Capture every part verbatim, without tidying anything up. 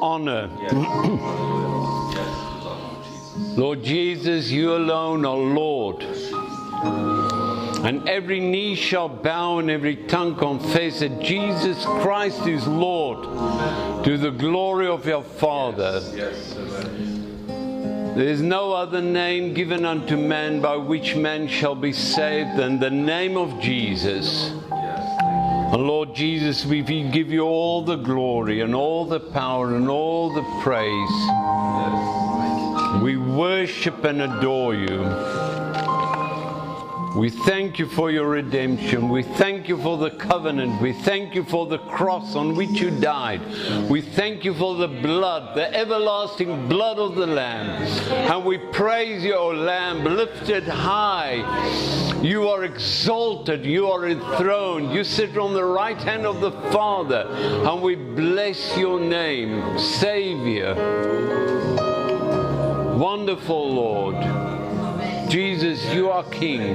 honor. Lord Jesus, you alone are Lord. And every knee shall bow and every tongue confess that Jesus Christ is Lord, to the glory of your Father. There is no other name given unto man by which man shall be saved than the name of Jesus. And Lord Jesus, we give you all the glory and all the power and all the praise. We worship and adore you. We thank you for your redemption. We thank you for the covenant. We thank you for the cross on which you died. We thank you for the blood, the everlasting blood of the Lamb. And we praise you, O Lamb, lifted high. You are exalted. You are enthroned. You sit on the right hand of the Father. And we bless your name, Savior. Wonderful Lord. Jesus, you are King.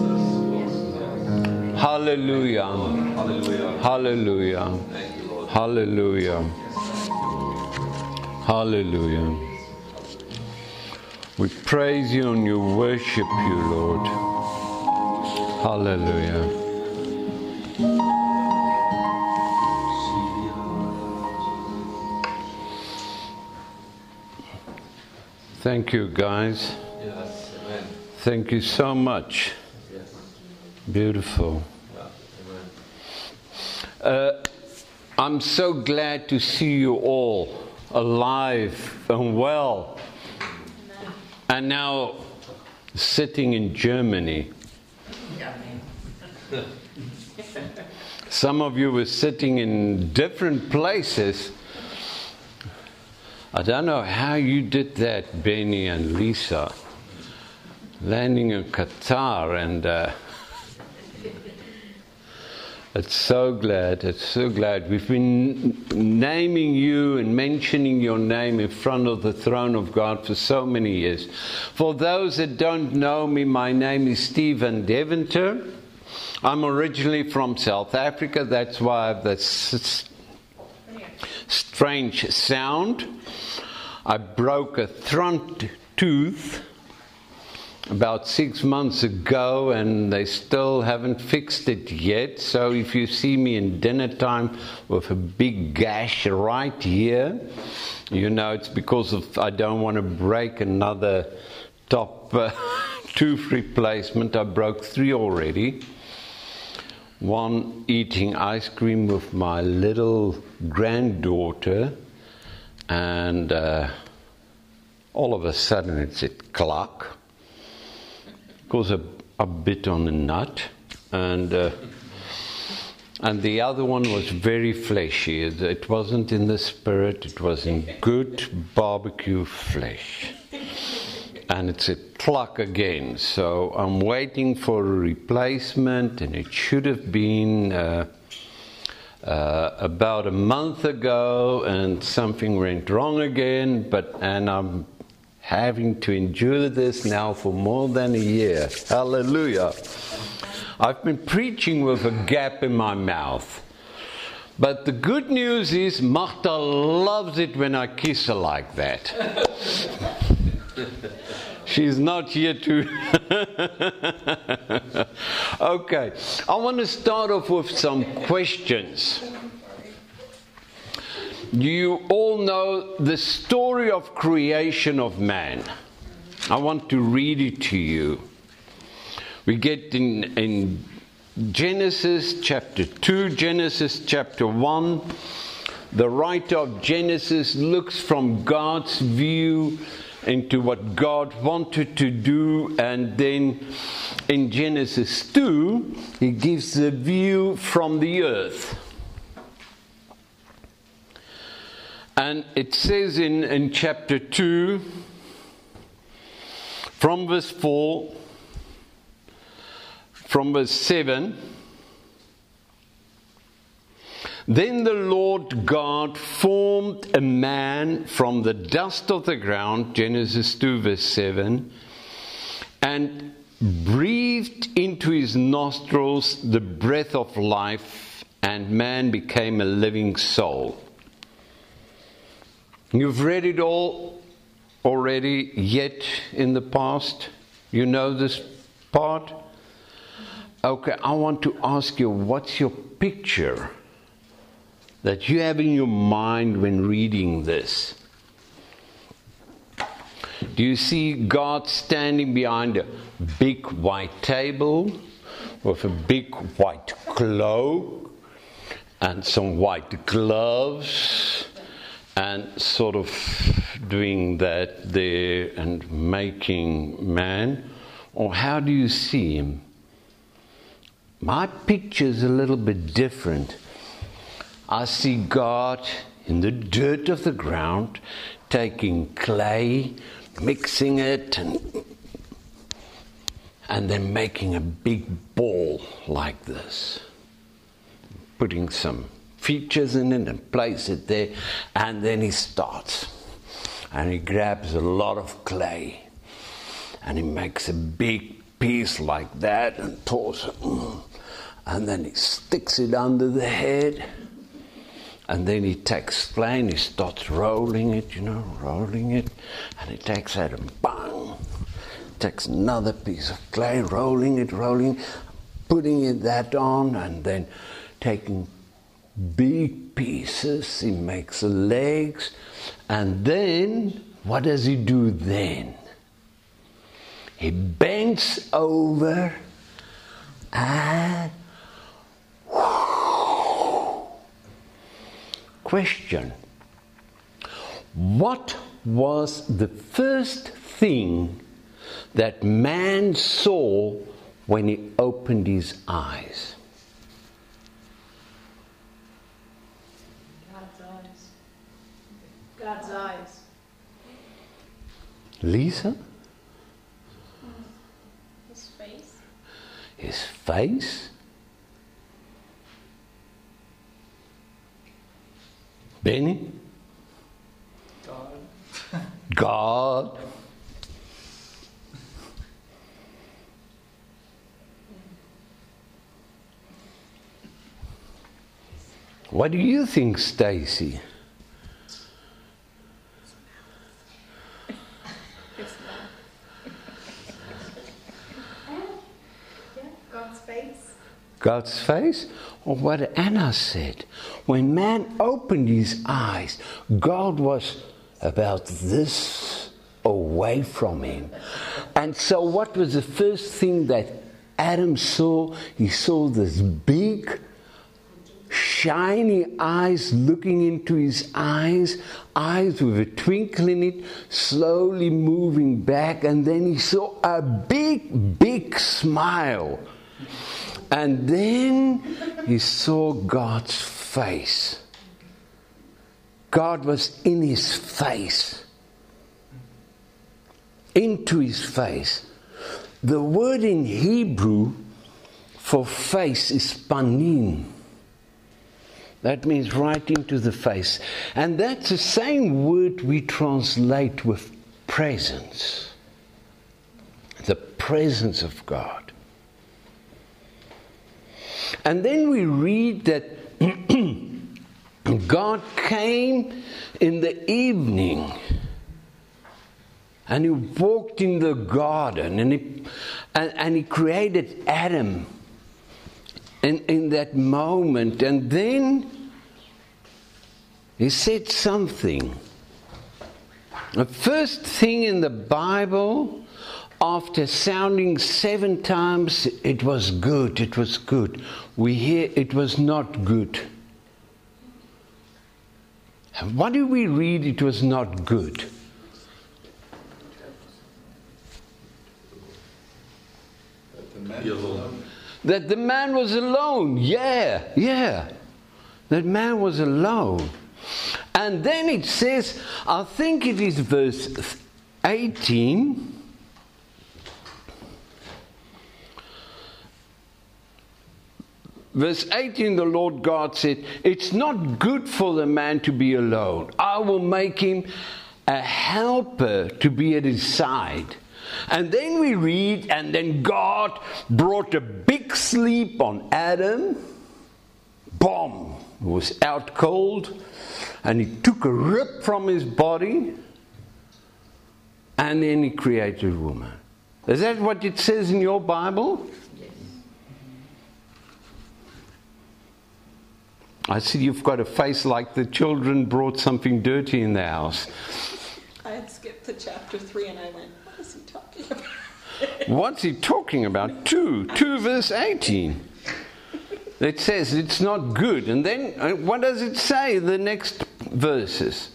Hallelujah. Hallelujah. Hallelujah. Hallelujah. We praise you and you worship you, Lord. Hallelujah. Thank you, guys. Thank you so much. Yes. Beautiful. Uh, I'm so glad to see you all alive and well. And now sitting in Germany. Some of you were sitting in different places. I don't know how you did that, Benny and Lisa. Landing in Qatar, and uh, it's so glad, it's so glad. We've been naming you and mentioning your name in front of the throne of God for so many years. For those that don't know me, my name is Stephen Deventer. I'm originally from South Africa, that's why I have this strange sound. I broke a front tooth about six months ago, and they still haven't fixed it yet. So if you see me in dinner time with a big gash right here, you know it's because of I don't want to break another top uh, tooth replacement. I broke three already. One eating ice cream with my little granddaughter, and uh, all of a sudden it said cluck. Because I, I bit on a nut, and uh, and the other one was very fleshy. It, it wasn't in the spirit, it was in good barbecue flesh. And it's a cluck again, so I'm waiting for a replacement, and it should have been uh, uh, about a month ago, and something went wrong again, but and I'm having to endure this now for more than a year. Hallelujah. I've been preaching with a gap in my mouth. But the good news is Martha loves it when I kiss her like that. She's not here to... Okay, I want to start off with some questions. You all know the story of creation of man. I want to read it to you. We get in, in Genesis chapter two, Genesis chapter one. The writer of Genesis looks from God's view into what God wanted to do, and then in Genesis two, he gives the view from the earth. And it says in, in chapter two, from verse four, from verse seven, then the Lord God formed a man from the dust of the ground, Genesis two verse seven, and breathed into his nostrils the breath of life, and man became a living soul. You've read it all already, yet in the past. You know this part? Okay, I want to ask you, what's your picture that you have in your mind when reading this? Do you see God standing behind a big white table with a big white cloak and some white gloves and sort of doing that there and making man? Or how do you see him? My picture is a little bit different. I see God in the dirt of the ground, taking clay, mixing it, and, and then making a big ball like this. Putting some features in it and place it there, and then he starts. And he grabs a lot of clay, and he makes a big piece like that and pours it. And then he sticks it under the head. And then he takes clay and he starts rolling it, you know, rolling it. And he takes that and bang, takes another piece of clay, rolling it, rolling, putting it that on, and then taking big pieces. He makes the legs. And then, what does he do then? He bends over and question. What was the first thing that man saw when he opened his eyes? God's eyes. God's eyes. Lisa? His face. His face? Benny? God. God. What do you think, Stacy? God's face. God's face? Or what Anna said. When man opened his eyes, God was about this away from him. And so what was the first thing that Adam saw? He saw this big, shiny eyes looking into his eyes, eyes with a twinkle in it, slowly moving back, and then he saw a big, big smile. And then he saw God's face. God was in his face. Into his face. The word in Hebrew for face is panim. That means right into the face. And that's the same word we translate with presence. The presence of God. And then we read that God came in the evening and he walked in the garden and he, and, and he created Adam in, in that moment. And then he said something. The first thing in the Bible, after sounding seven times, it was good, it was good. We hear it was not good. And what do we read? It was not good. That the man was alone. That the man was alone. Yeah, yeah. That man was alone. And then it says, I think it is verse eighteen. Verse eighteen, the Lord God said, it's not good for the man to be alone. I will make him a helper to be at his side. And then we read, and then God brought a big sleep on Adam. Boom. was out cold, and he took a rib from his body, and then he created a woman. Is that what it says in your Bible? Yes. I see you've got a face like the children brought something dirty in the house. I had skipped to chapter three and I went, what is he talking about? What's he talking about? Two, two verse eighteen. It says it's not good. And then uh, what does it say, the next verses?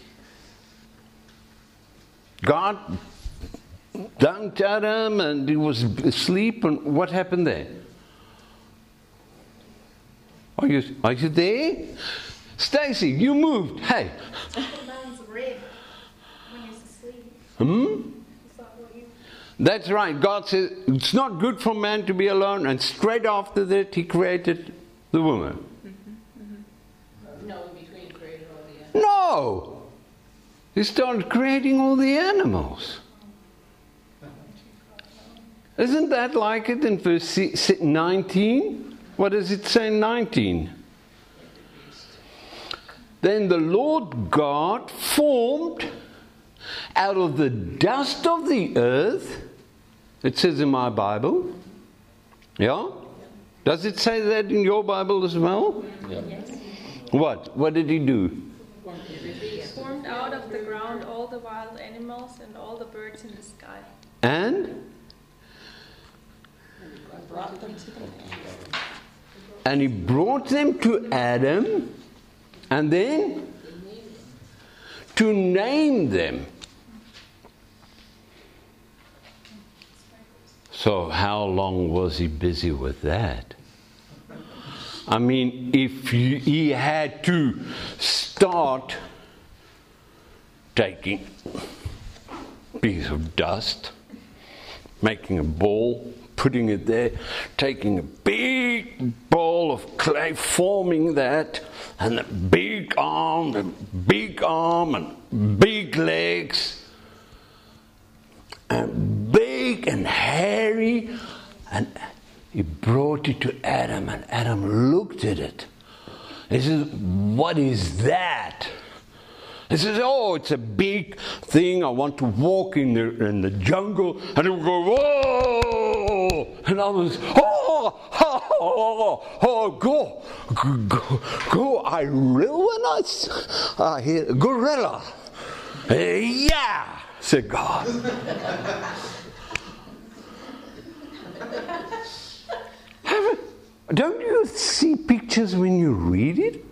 God dunked Adam and he was asleep, and what happened there? Are you, are you there? Stacy, you moved. Hey. Man's rib when he's asleep. Hmm? Is that what you... That's right. God says it's not good for man to be alone, and straight after that he created the woman. Mm-hmm, mm-hmm. No, in between created all the animals. No! He started creating all the animals. Isn't that like it in verse nineteen? What does it say in nineteen? Then the Lord God formed out of the dust of the earth, it says in my Bible. Yeah? Does it say that in your Bible as well? Yeah. What? What did he do? Formed out of the ground all the wild animals and all the birds in the sky. And? Brought them to the man. And he brought them to Adam, and then to name them. So how long was he busy with that? I mean, if he had to start taking a piece of dust, making a ball, putting it there, taking a big ball of clay, forming that, and a big arm, and big arm, and big legs, and big and hairy, and he brought it to Adam, and Adam looked at it. He says, "What is that?" He says, "Oh, it's a big thing. I want to walk in the in the jungle." And he would go, "Whoa!" And I was, "Oh, oh, oh, oh, go, go, go!" I will when I, I hear gorilla. Yeah, said God. Have, don't you see pictures when you read it?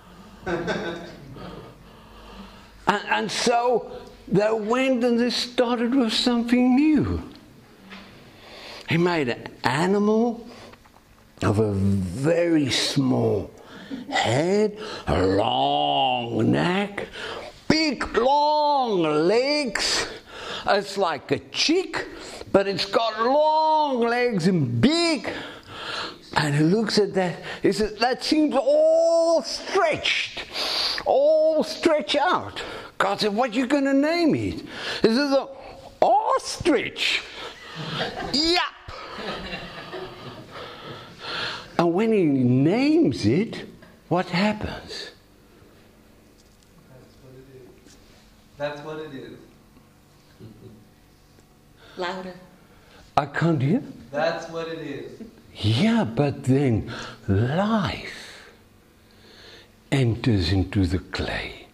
And, and so they went and they started with something new. He made an animal of a very small head, a long neck, big long legs. It's like a chick, but it's got long legs and big. And he looks at that, he says, "That seems all stretched, all stretched out." God said, "What are you going to name it?" He says, "Ostrich." Yup. And when he names it, what happens? That's what it is. That's what it is. Louder. I can't hear. That's what it is. Yeah, but then life enters into the clay.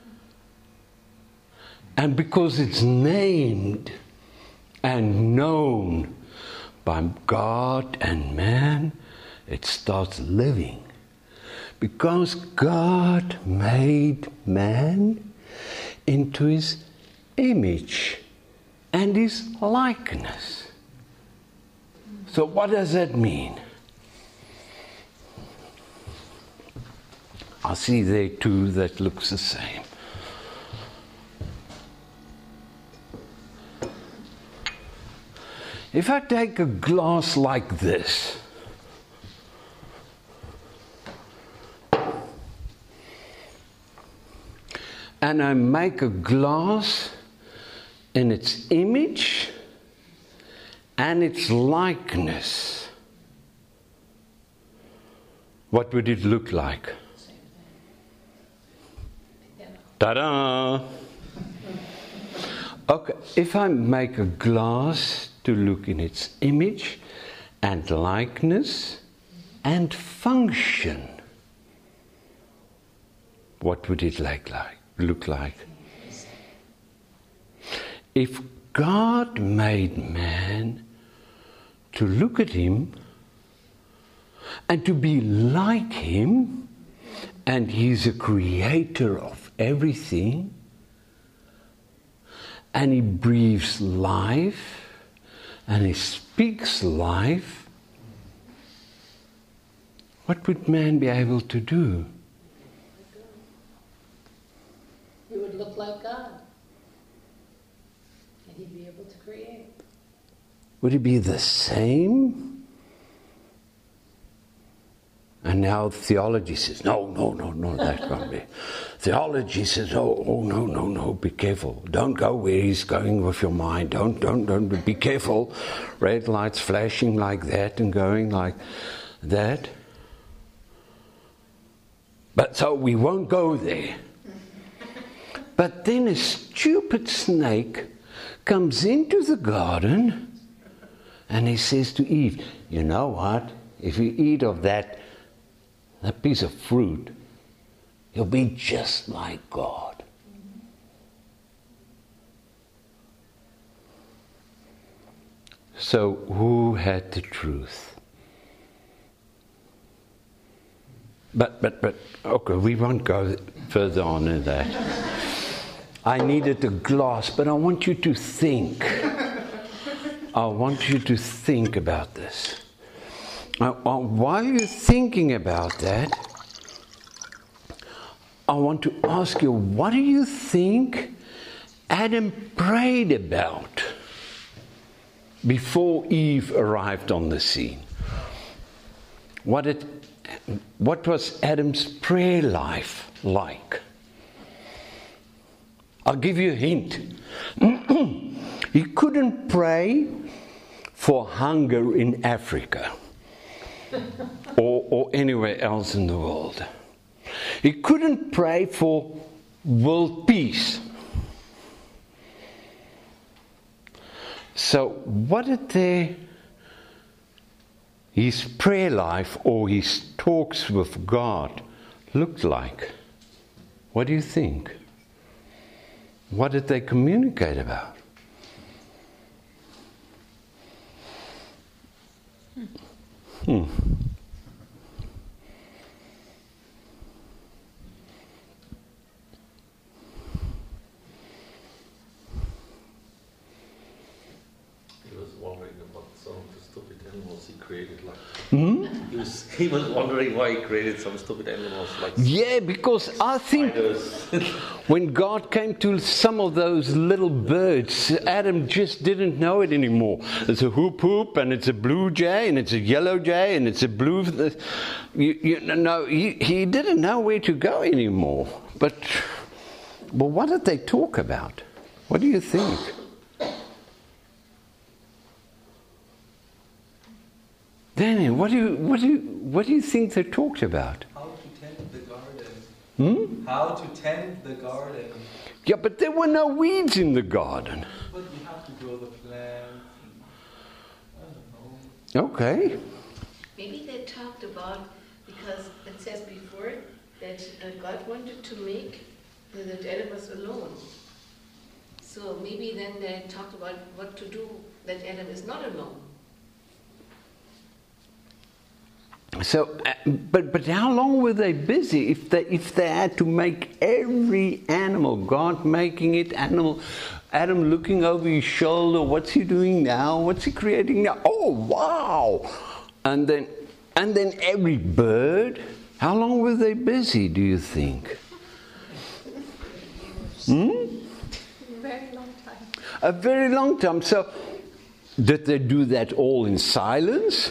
And because it's named and known by God and man, it starts living. Because God made man into his image and his likeness. So what does that mean? I see there two that looks the same. If I take a glass like this, and I make a glass in its image and its likeness, what would it look like? Ta-da! Okay, if I make a glass to look in its image and likeness and function, what would it like, like, look like? If God made man to look at him and to be like him, and he's a creator of everything, and he breathes life, and he speaks life, what would man be able to do? He would look like God. And he'd be able to create. Would it be the same? And now theology says, no, no, no, no, that can't be. Theology says, oh, oh, no, no, no, be careful. Don't go where he's going with your mind. Don't, don't, don't, be careful. Red lights flashing like that and going like that. But so we won't go there. But then a stupid snake comes into the garden and he says to Eve, you know what? If you eat of that, that piece of fruit, you'll be just like God. So who had the truth? But, but, but, okay, we won't go further on in that. I needed a glass, but I want you to think. I want you to think about this. Uh, while you're thinking about that, I want to ask you, what do you think Adam prayed about before Eve arrived on the scene? What, it, what was Adam's prayer life like? I'll give you a hint. He couldn't pray for hunger in Africa or, or anywhere else in the world. He couldn't pray for world peace. So what did they, his prayer life or his talks with God look like? What do you think? What did they communicate about? Hmm. He was wondering about some of the stupid animals he created. Like Hmm? he was, he was wondering why he created some stupid animals like Yeah, because I think spiders. when God came to some of those little birds, Adam just didn't know it anymore. It's a hoop hoop, and it's a blue jay, and it's a yellow jay, and it's a blue. You, you know, he, he didn't know where to go anymore. But, but what did they talk about? What do you think? Danny, what do you what do you what do you think they talked about? How to tend the garden. Hmm? How to tend the garden. Yeah, but there were no weeds in the garden. But you have to grow the plants. I don't know. Okay. Maybe they talked about, because it says before that uh, God wanted to make uh, that Adam was alone. So maybe then they talked about what to do that Adam is not alone. So, uh, but but how long were they busy if they if they had to make every animal, God making it, animal, Adam looking over his shoulder, what's he doing now? What's he creating now? Oh wow! And then and then every bird. How long were they busy? Do you think? Hmm? Very long time. A very long time. So, did they do that all in silence?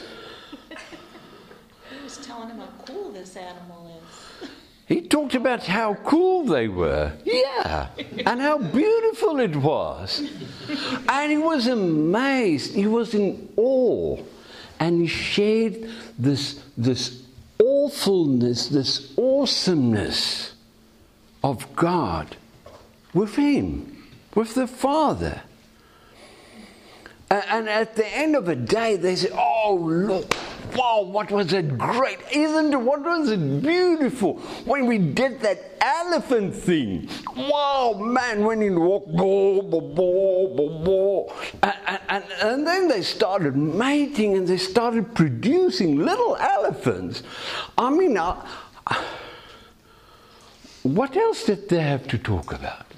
He was telling him how cool this animal is. He talked about how cool they were. Yeah. And how beautiful it was. And he was amazed. He was in awe. And he shared this, this awfulness, this awesomeness of God with Him, with the Father. And at the end of the day, they say, oh, look, wow, what was it great. Isn't it, what was it beautiful when we did that elephant thing. Wow, man, when he walked, bo, bo, bo, bo, bo. And, and, and then they started mating and they started producing little elephants. I mean, uh, what else did they have to talk about?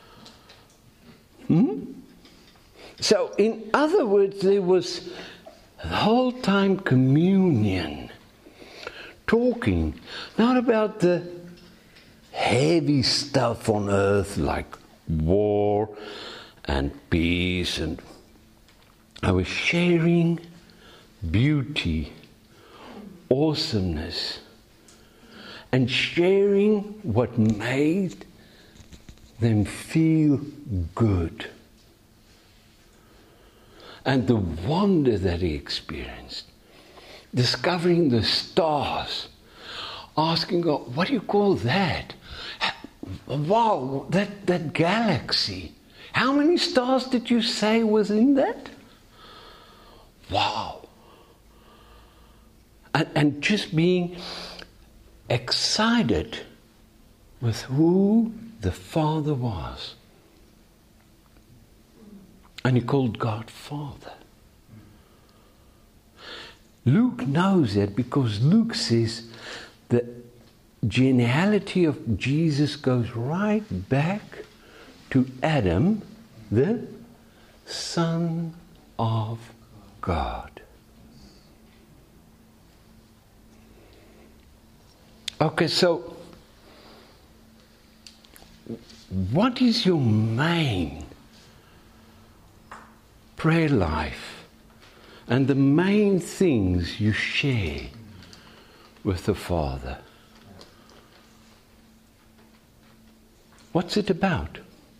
Hmm? So, in other words, there was the whole time communion, talking, not about the heavy stuff on earth like war and peace, and I was sharing beauty, awesomeness, and sharing what made them feel good. And the wonder that he experienced, discovering the stars, asking God, what do you call that? Wow, that, that galaxy. How many stars did you say was in that? Wow. And, and just being excited with who the Father was. And he called God Father. Luke knows that because Luke says the genealogy of Jesus goes right back to Adam, the Son of God. Okay, so what is your main prayer life and the main things you share with the Father? What's it about?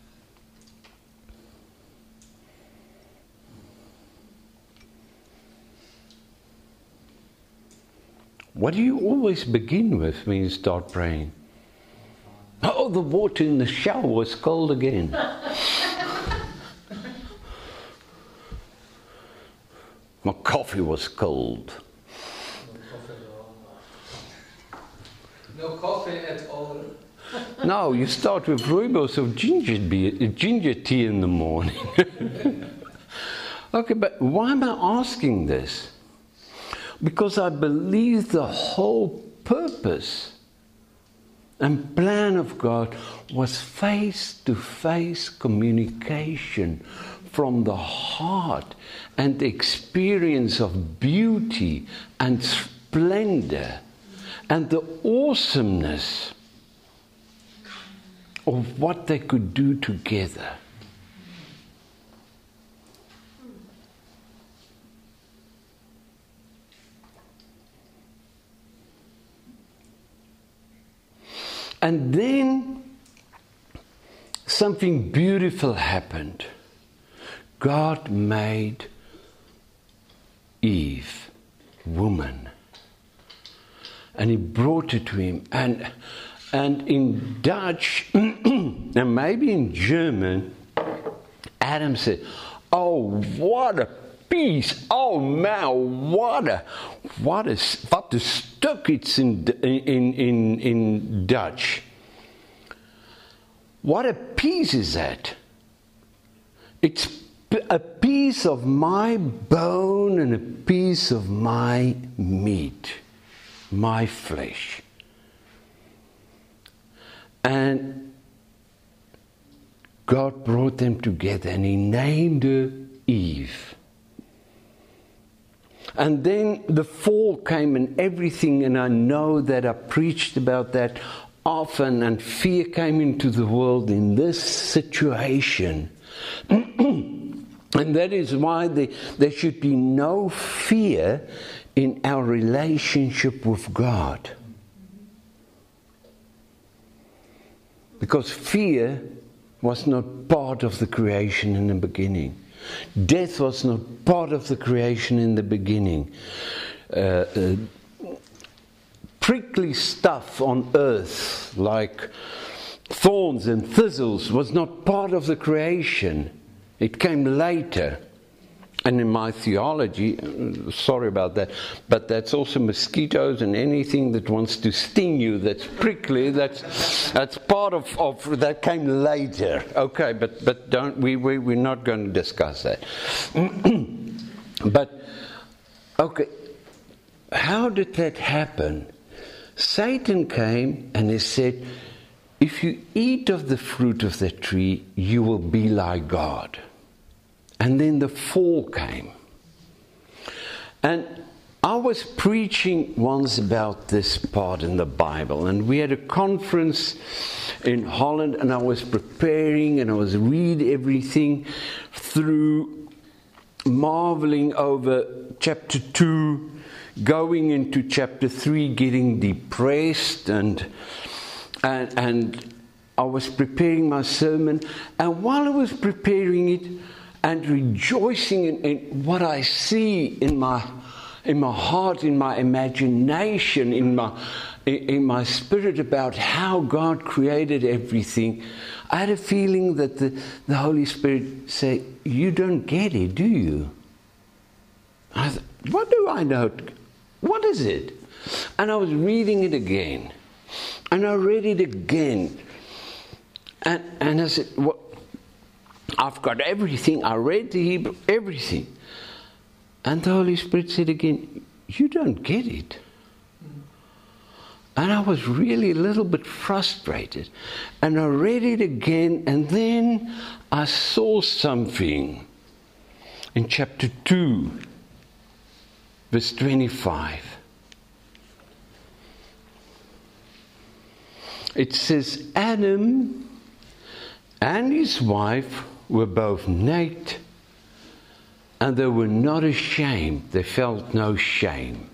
What do you always begin with when you start praying? Oh, the water in the shower was cold again. My coffee was cold. No coffee at all. No, you start with rooibos of ginger beer, ginger tea in the morning. Okay, but why am I asking this? Because I believe the whole purpose and plan of God was face-to-face communication from the heart and the experience of beauty and splendor and the awesomeness of what they could do together. And then something beautiful happened. God made Eve, woman, and he brought her to him. And and in Dutch, and maybe in German, Adam said, "Oh, what a piece! Oh man, what a what a what a stuk it's in in in in Dutch. What a piece is that? It's a piece of my bone and a piece of my meat, my flesh." And God brought them together and he named her Eve. And then the fall came and everything, and I know that I preached about that often, and fear came into the world in this situation. And that is why there, there should be no fear in our relationship with God. Because fear was not part of the creation in the beginning. Death was not part of the creation in the beginning. Uh, uh, prickly stuff on earth, like thorns and thistles was not part of the creation. It came later. And in my theology, sorry about that, but that's also mosquitoes and anything that wants to sting you, that's prickly, that's that's part of, of that came later. Okay, but but don't we, we we're not going to discuss that. But okay, how did that happen? Satan came and he said, if you eat of the fruit of the tree, you will be like God. And then the fall came. And I was preaching once about this part in the Bible, and we had a conference in Holland, and I was preparing and I was reading everything through, marveling over chapter two, going into chapter three, getting depressed, and and and I was preparing my sermon, and while I was preparing it and rejoicing in, in what I see in my in my heart, in my imagination, in my in, in my spirit about how God created everything, I had a feeling that the, the Holy Spirit said, "You don't get it, do you?" I thought, what do I know? What is it? And I was reading it again. And I read it again. And, and I said, well, I've got everything. I read the Hebrew, everything. And the Holy Spirit said again, you don't get it. And I was really a little bit frustrated. And I read it again, and then I saw something in chapter two, verse twenty-five. It says, Adam and his wife were both naked, and they were not ashamed. They felt no shame.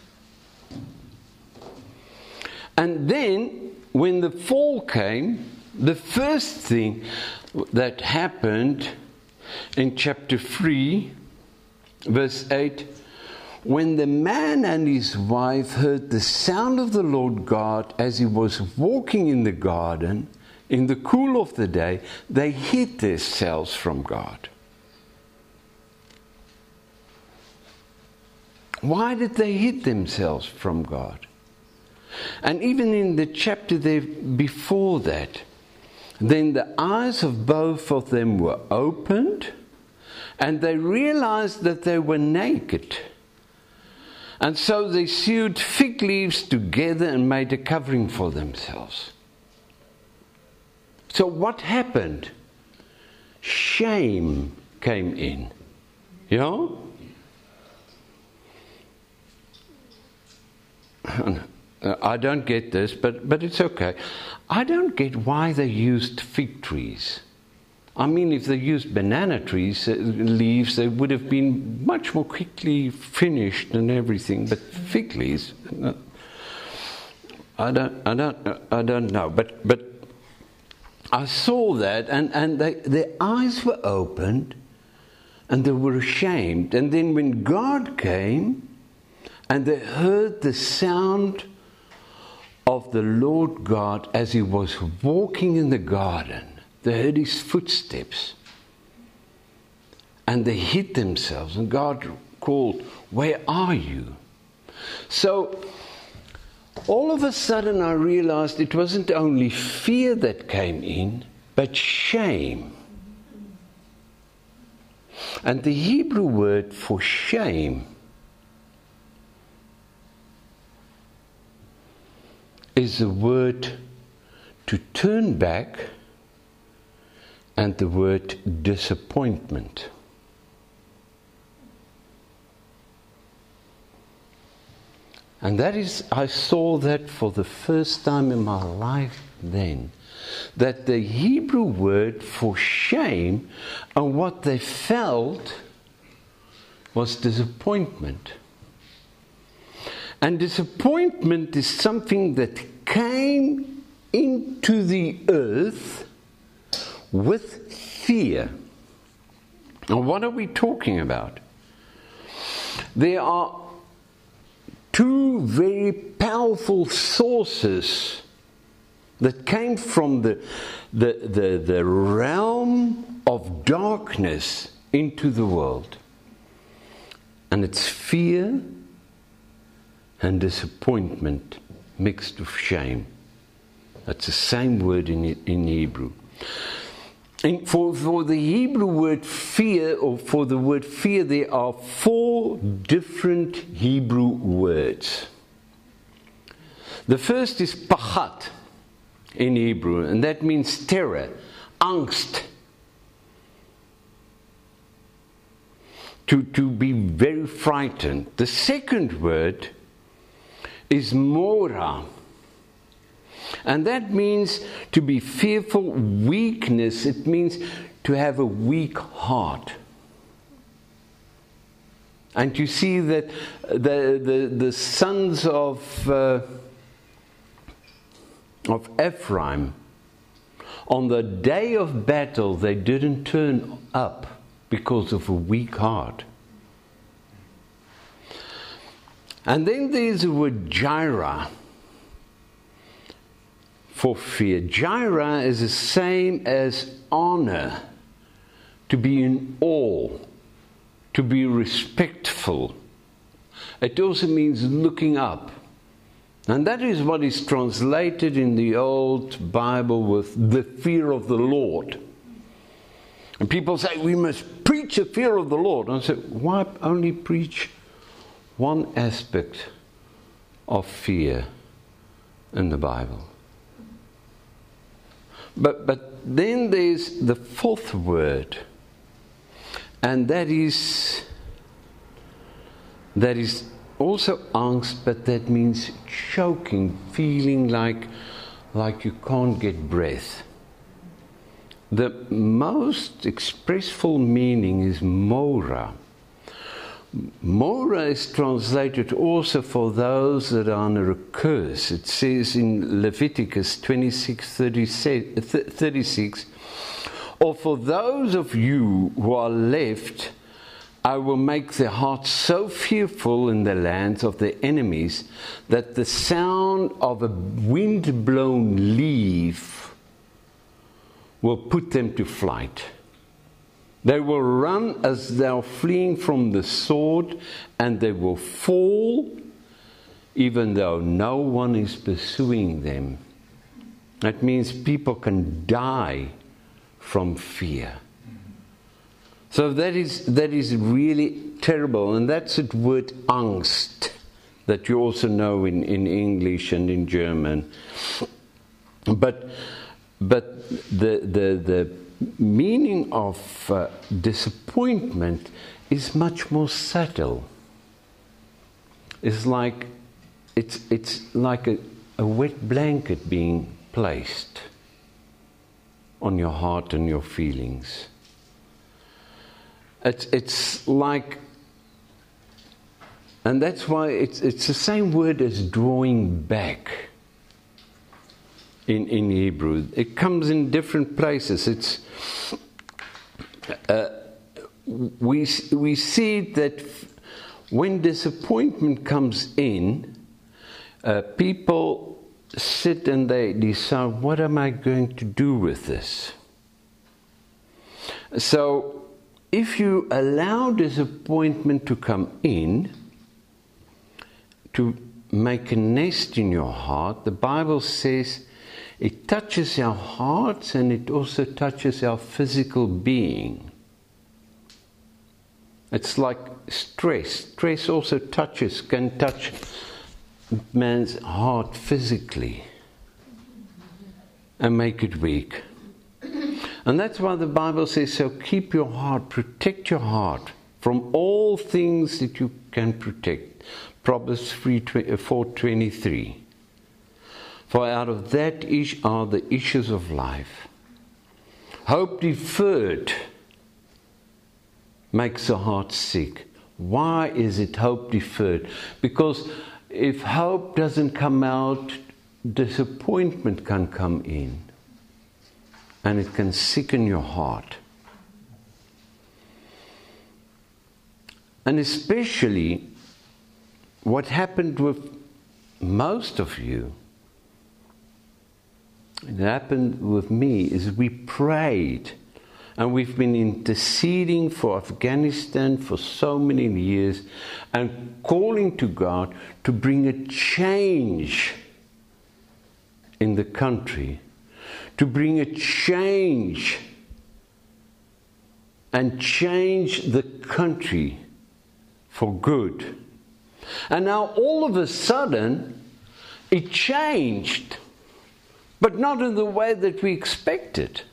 And then, when the fall came, the first thing that happened in chapter three, verse eight, when the man and his wife heard the sound of the Lord God as he was walking in the garden in the cool of the day, they hid themselves from God. Why did they hid themselves from God? And even in the chapter there before that, then the eyes of both of them were opened, and they realized that they were naked. And so they sewed fig leaves together and made a covering for themselves. So what happened? Shame came in. Yeah? I don't get this, but, but it's okay. I don't get why they used fig trees. I mean, if they used banana trees, uh, leaves, they would have been much more quickly finished and everything. But fig leaves, uh, I don't, I don't, uh, I don't know. But, but I saw that, and and they, their eyes were opened, and they were ashamed. And then when God came, and they heard the sound of the Lord God as he was walking in the garden. They heard his footsteps. And they hid themselves. And God called, where are you? So, all of a sudden I realized it wasn't only fear that came in, but shame. And the Hebrew word for shame is the word to turn back, and the word disappointment. And that is, I saw that for the first time in my life then, that the Hebrew word for shame and what they felt was disappointment. And disappointment is something that came into the earth with fear. And what are we talking about? There are two very powerful sources that came from the, the, the, the realm of darkness into the world. And it's fear and disappointment mixed with shame. That's the same word in, in Hebrew. And for, for the Hebrew word fear, or for the word fear, there are four different Hebrew words. The first is pachat in Hebrew, and that means terror, angst. To, to be very frightened. The second word is mora, and that means to be fearful, weakness. It means to have a weak heart. And you see that the the, the sons of uh, of Ephraim, on the day of battle, they didn't turn up because of a weak heart. And then there's the word Jireh for fear. Jireh is the same as honor, to be in awe, to be respectful. It also means looking up. And that is what is translated in the old Bible with the fear of the Lord. And people say, we must preach the fear of the Lord. And I say, why only preach one aspect of fear in the Bible? But, but then there's the fourth word. And that is, that is also angst, but that means choking, feeling like, like you can't get breath. The most expressful meaning is mora. Mora is translated also for those that are under a curse. It says in Leviticus twenty-six thirty-six, or for those of you who are left, I will make their hearts so fearful in the lands of their enemies that the sound of a wind-blown leaf will put them to flight. They will run as they are fleeing from the sword, and they will fall even though no one is pursuing them. That means people can die from fear. So that is that is really terrible, and that's the word angst that you also know in, in English and in German. But but the the the meaning of uh, disappointment is much more subtle. It's like it's it's like a, a wet blanket being placed on your heart and your feelings. It's it's like, and that's why it's it's the same word as drawing back. In, in Hebrew, it comes in different places. It's uh, we we see that when disappointment comes in, uh, people sit and they decide, what am I going to do with this? So, if you allow disappointment to come in, to make a nest in your heart, the Bible says it touches our hearts and it also touches our physical being. It's like stress. Stress also touches, can touch man's heart physically and make it weak. And that's why the Bible says, so keep your heart, protect your heart from all things that you can protect. Proverbs four twenty-three. For out of that are the issues of life. Hope deferred makes the heart sick. Why is it hope deferred? Because if hope doesn't come out, disappointment can come in. And it can sicken your heart. And especially what happened with most of you it happened with me is we prayed. And we've been interceding for Afghanistan for so many years and calling to God to bring a change in the country, to bring a change and change the country for good. And now all of a sudden it changed, but not in the way that we expected.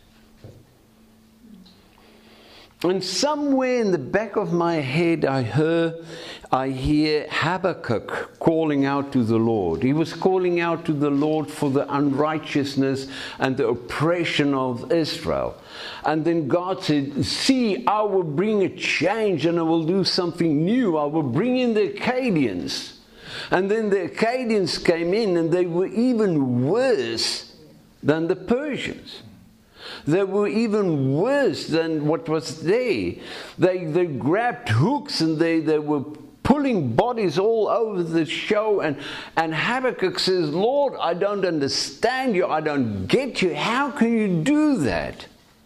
And somewhere in the back of my head I heard, I hear Habakkuk calling out to the Lord. He was calling out to the Lord for the unrighteousness and the oppression of Israel. And then God said, see, I will bring a change and I will do something new. I will bring in the Akkadians. And then the Akkadians came in and they were even worse than the Persians. They were even worse than what was there. They, they grabbed hooks and they, they were pulling bodies all over the show. And, and Habakkuk says, Lord, I don't understand you. I don't get you. How can you do that?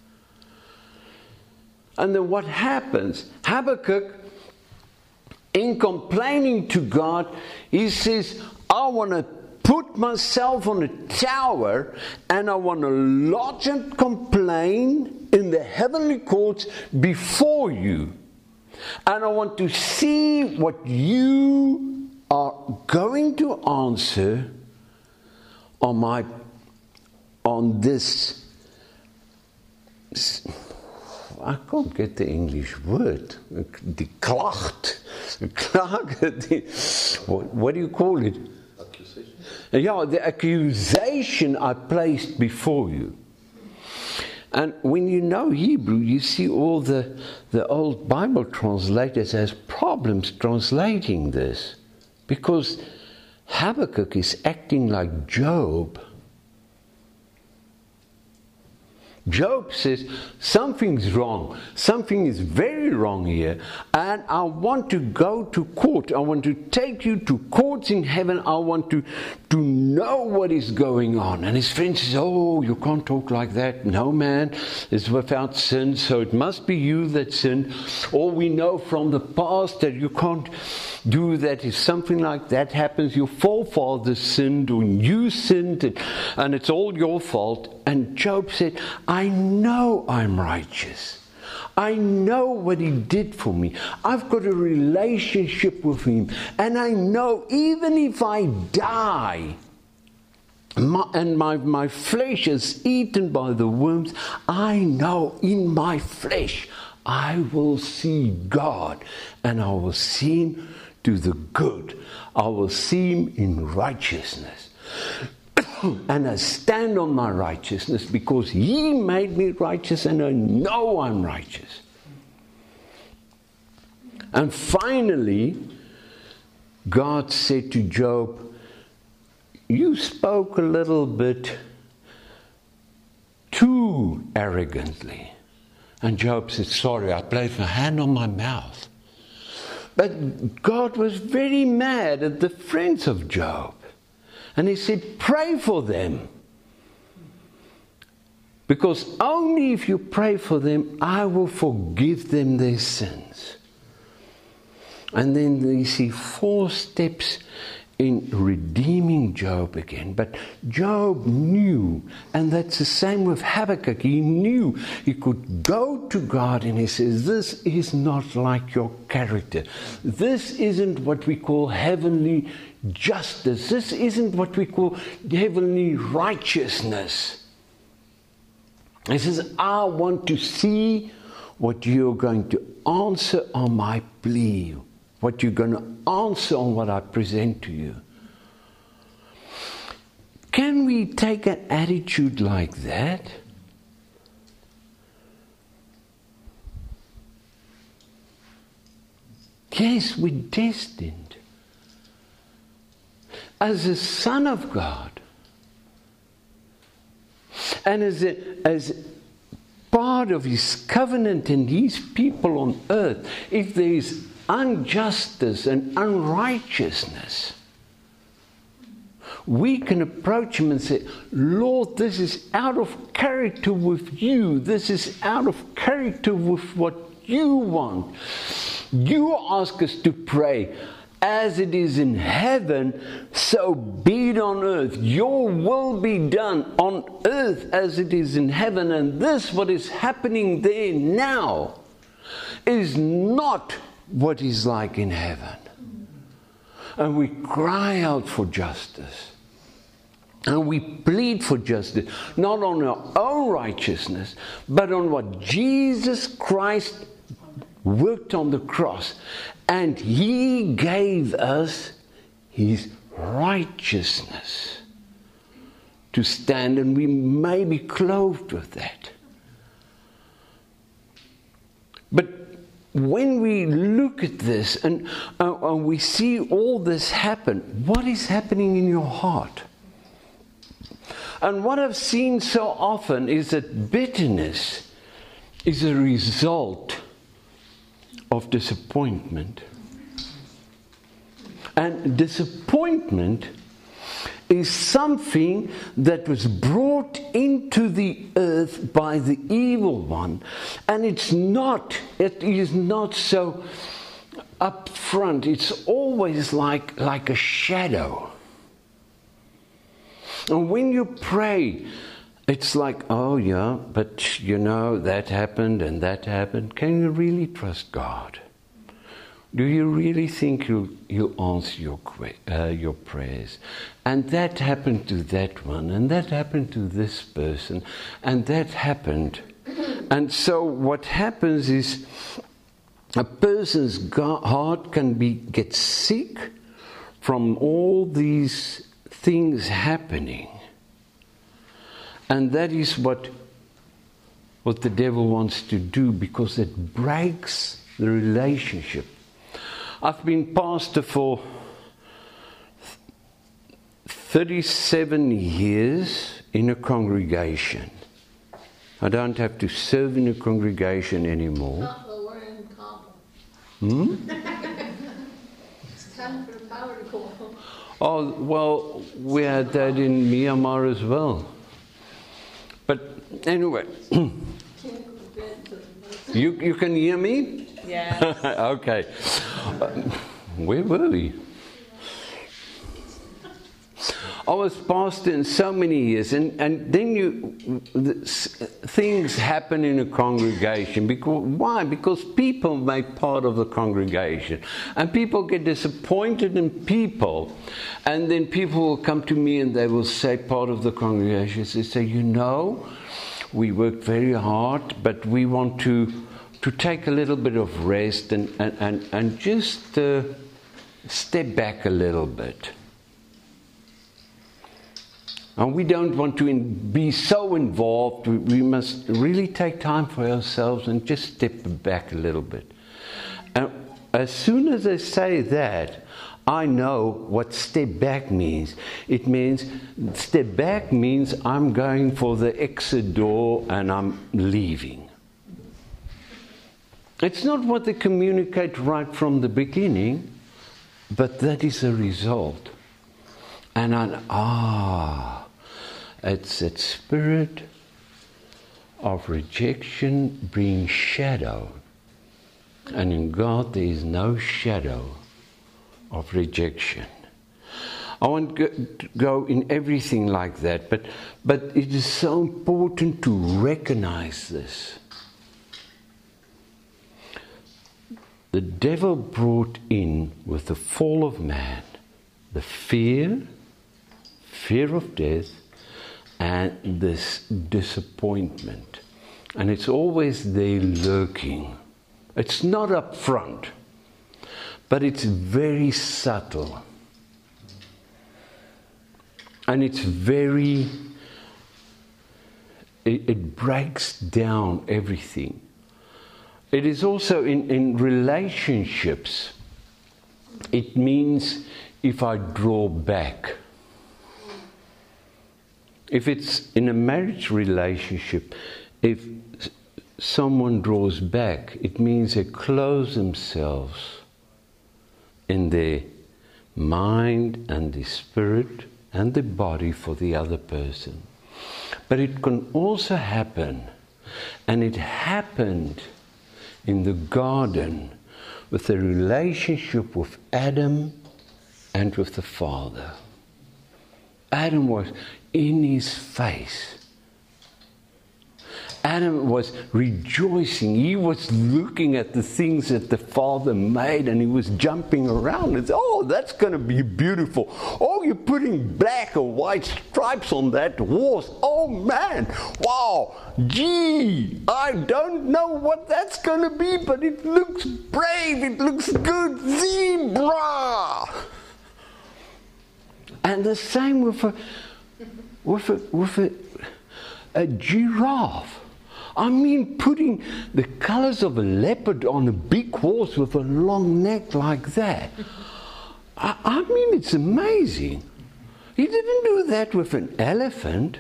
And then what happens? Habakkuk, in complaining to God, he says, I want to put myself on a tower and I want to lodge and complain in the heavenly courts before you. And I want to see what you are going to answer on my, on this, I can't get the English word, die klacht, what, what do you call it? Yeah, the accusation I placed before you. And when you know Hebrew, you see all the, the old Bible translators has problems translating this. Because Habakkuk is acting like Job. Job says, something's wrong. Something is very wrong here. And I want to go to court. I want to take you to courts in heaven. I want to, to know what is going on. And his friend says, oh, you can't talk like that. No man is without sin, so it must be you that sinned. Or we know from the past that you can't do that. If something like that happens, your forefathers sinned or you sinned, and, and it's all your fault. And Job said, I know I'm righteous. I know what he did for me. I've got a relationship with him. And I know even if I die, my, and my, my flesh is eaten by the worms, I know in my flesh I will see God. And I will see him do the good. I will see him in righteousness. And I stand on my righteousness because he made me righteous and I know I'm righteous. And finally, God said to Job, you spoke a little bit too arrogantly. And Job said, sorry, I placed my hand on my mouth. But God was very mad at the friends of Job. And he said, pray for them. Because only if you pray for them, I will forgive them their sins. And then you see four steps in redeeming Job again. But Job knew, and that's the same with Habakkuk. He knew he could go to God and he says, this is not like your character. This isn't what we call heavenly justice. This isn't what we call heavenly righteousness. He says, I want to see what you're going to answer on my plea, what you're going to answer on what I present to you. Can we take an attitude like that? Yes, we're destined. As a son of God, and as a, as part of his covenant and his people on earth, if there is injustice and unrighteousness, we can approach him and say, Lord, this is out of character with you. This is out of character with what you want. You ask us to pray, as it is in heaven, so be it on earth. Your will be done on earth as it is in heaven. And this, what is happening there now, is not what is like in heaven. And we cry out for justice. And we plead for justice, not on our own righteousness, but on what Jesus Christ worked on the cross. And he gave us his righteousness to stand, and we may be clothed with that. But when we look at this and, uh, and we see all this happen, what is happening in your heart? And what I've seen so often is that bitterness is a result of disappointment. And disappointment is something that was brought into the earth by the evil one. And it's not, it is not so up front. It's always like, like a shadow. And when you pray, it's like, oh yeah, but you know, that happened and that happened. Can you really trust God? Do you really think He'll, he'll answer your, uh, your prayers? And that happened to that one, and that happened to this person, and that happened. And so what happens is a person's heart can be get sick from all these things happening. And that is what, what the devil wants to do, because it breaks the relationship. I've been pastor for thirty-seven years in a congregation. I don't have to serve in a congregation anymore. Not the word in common. Hmm? It's time for the power to go home. Oh, well, we had that in Myanmar as well. But anyway, you, you can hear me? Yes. Okay. Uh, where were we? I was pastor in so many years, and, and then you the, things happen in a congregation. Because why? Because people make part of the congregation, and people get disappointed in people, and then people will come to me and they will say, part of the congregation, they say, you know, we worked very hard, but we want to to take a little bit of rest and and and, and just uh, step back a little bit. And we don't want to in, be so involved. We, we must really take time for ourselves and just step back a little bit. And as soon as I say that, I know what step back means. It means, step back means I'm going for the exit door and I'm leaving. It's not what they communicate right from the beginning, but that is a result. And I, ah, it's that spirit of rejection brings shadow. And in God there is no shadow of rejection. I won't go in everything like that, but, but it is so important to recognize this. The devil brought in with the fall of man the fear, fear of death, and this disappointment. And it's always there lurking. It's not up front, but it's very subtle. And it's very, it, it breaks down everything. It is also in, in relationships. It means if I draw back. If it's in a marriage relationship, if someone draws back, it means they close themselves in their mind and their spirit and the body for the other person. But it can also happen, and it happened in the garden with the relationship with Adam and with the Father. Adam was in his face. Adam was rejoicing. He was looking at the things that the Father made, and he was jumping around and said, oh, that's going to be beautiful. Oh, you're putting black or white stripes on that horse. Oh, man. Wow. Gee, I don't know what that's going to be, but it looks brave. It looks good. Zebra. And the same with a, with a, with a, a giraffe. I mean, putting the colors of a leopard on a big horse with a long neck like that. I, I mean, it's amazing. He didn't do that with an elephant.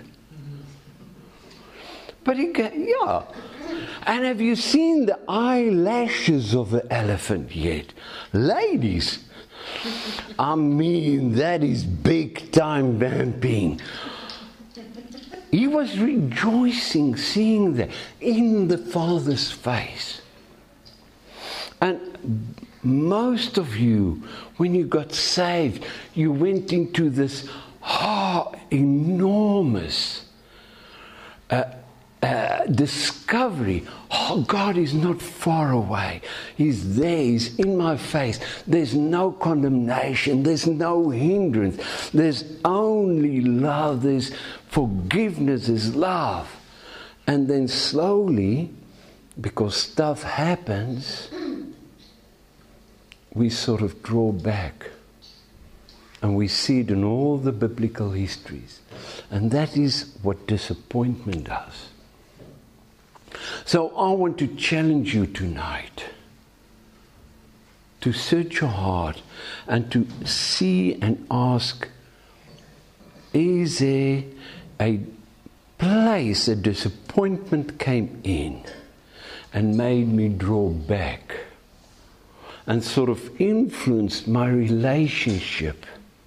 But he got, yeah. And have you seen the eyelashes of an elephant yet? Ladies, I mean, that is big time vamping. He was rejoicing, seeing that in the Father's face. And most of you, when you got saved, you went into this oh, enormous uh, uh, discovery. Oh, God is not far away. He's there. He's in my face. There's no condemnation. There's no hindrance. There's only love. There's forgiveness. There's love. And then slowly, because stuff happens, we sort of draw back. And we see it in all the biblical histories. And that is what disappointment does. So I want to challenge you tonight to search your heart and to see and ask, is there a place a disappointment came in and made me draw back and sort of influenced my relationship,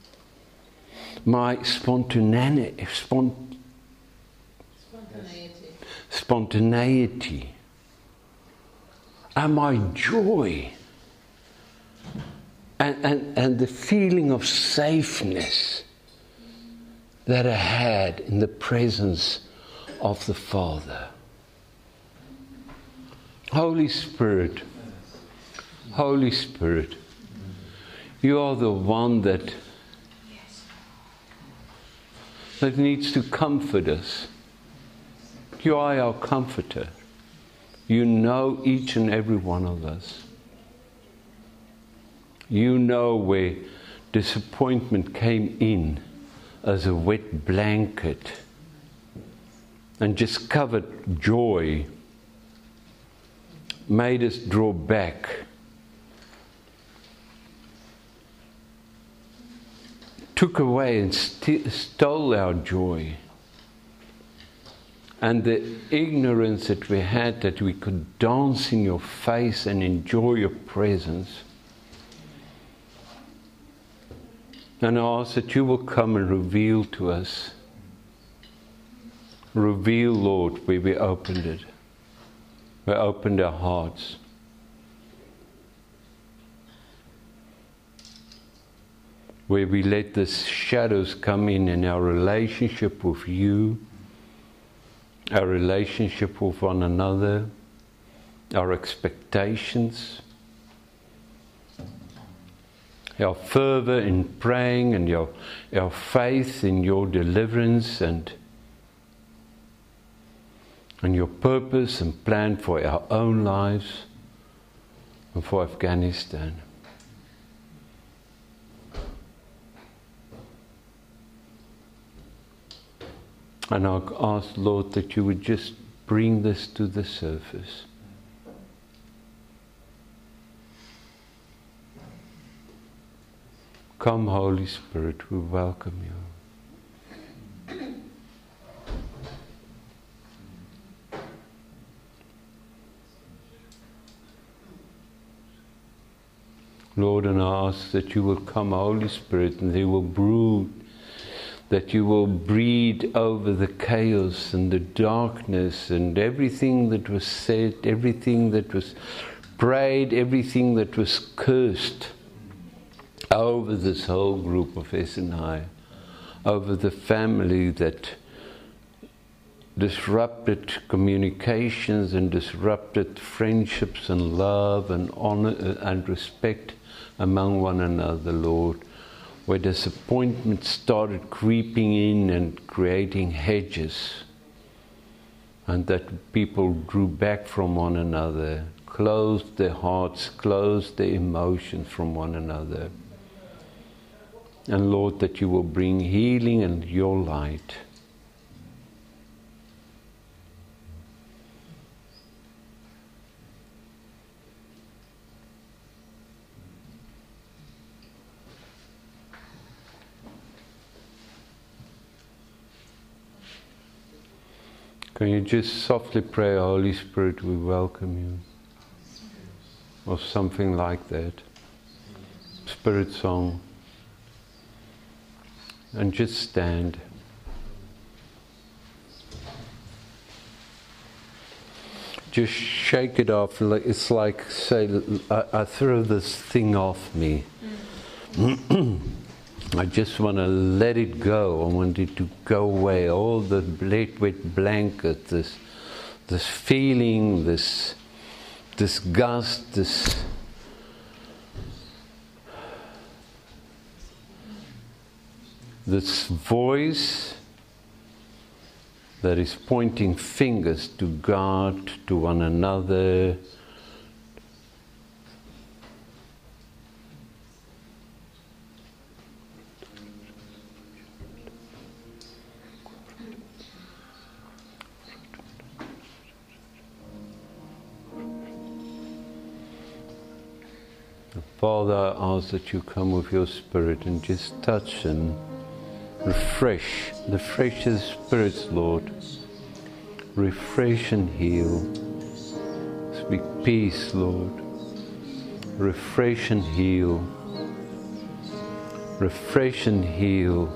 my spontaneity, spont- Spontaneity. spontaneity, and my joy, and, and, and the feeling of safeness that I had in the presence of the Father. Holy Spirit, Holy Spirit, you are the one that, that needs to comfort us. You are our comforter. You know each and every one of us. You know where disappointment came in as a wet blanket and just covered joy, made us draw back. Took away and st- stole our joy. And the ignorance that we had that we could dance in your face and enjoy your presence. And I ask that you will come and reveal to us. Reveal, Lord, where we opened it. We opened our hearts. Where we let the shadows come in in our relationship with you, our relationship with one another, our expectations, our fervor in praying, and your, our faith in your deliverance and, and your purpose and plan for our own lives and for Afghanistan. And I ask, Lord, that you would just bring this to the surface. Come, Holy Spirit, we welcome you. Lord, and I ask that you will come, Holy Spirit, and they will brood that you will breathe over the chaos and the darkness and everything that was said, everything that was prayed, everything that was cursed over this whole group of S N I, over the family that disrupted communications and disrupted friendships and love and honor and respect among one another, Lord, where disappointment started creeping in and creating hedges, and that people drew back from one another, closed their hearts, closed their emotions from one another. And Lord, that you will bring healing and your light. Can you just softly pray, Holy Spirit, we welcome you? Or something like that. Spirit song. And just stand. Just shake it off. It's like, say, I, I throw this thing off me. Mm. I just want to let it go. I want it to go away. All the wet, wet blanket, this, this feeling, this disgust, this this voice that is pointing fingers to God, to one another. Father, I ask that you come with your Spirit and just touch and refresh, the freshest spirits, Lord. Refresh and heal. Speak peace, Lord. Refresh and heal. Refresh and heal.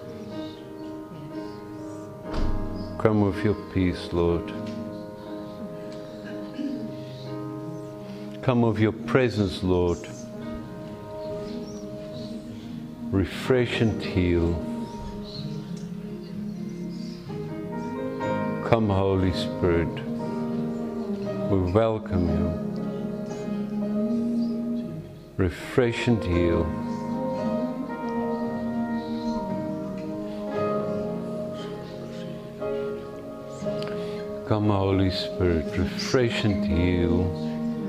Come with your peace, Lord. Come with your presence, Lord. Refresh and heal. Come, Holy Spirit. We welcome you. Refresh and heal. Come, Holy Spirit. Refresh and heal.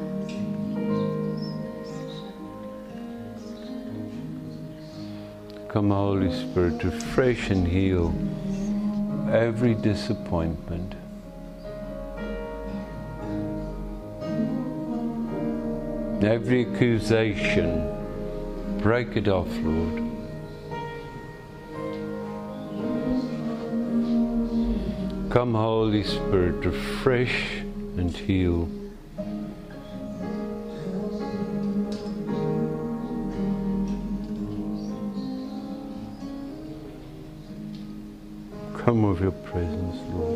Come, Holy Spirit, refresh and heal every disappointment. Every accusation, break it off, Lord. Come, Holy Spirit, refresh and heal. Come with your presence, Lord.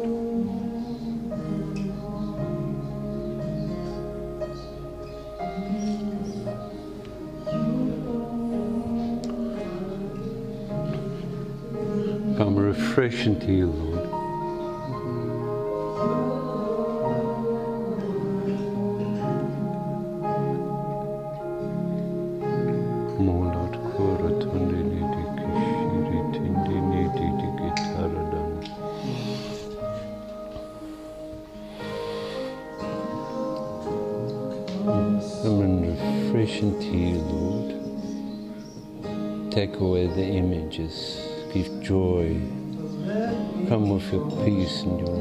Come refresh and heal, Lord. And heal, Lord. Take away the images, give joy. Come with your peace and your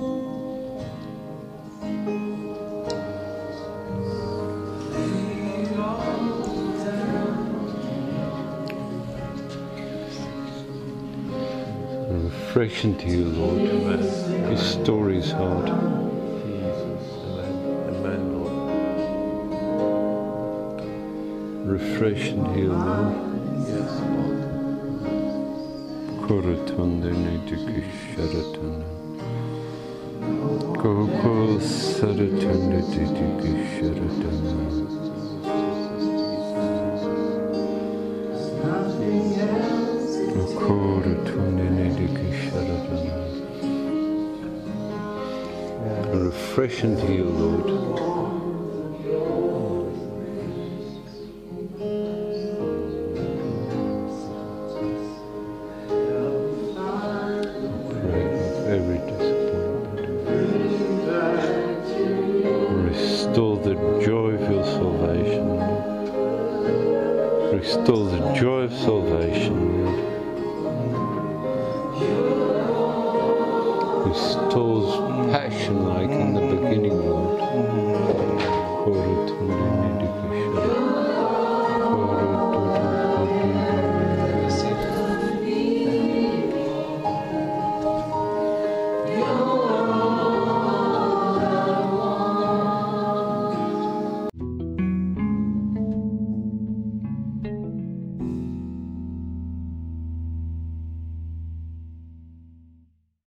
refresh and heal, Lord. His story is hard. Refresh and heal, Lord. Yes, Lord. Kurutundanidiki Sharatana. Gokul Saratunadidiki Sharatana. Kurutundanidiki Sharatana. Refresh and heal, Lord. Restore the joy of your salvation, Lord. Restore the joy of salvation, Lord. Restores passion like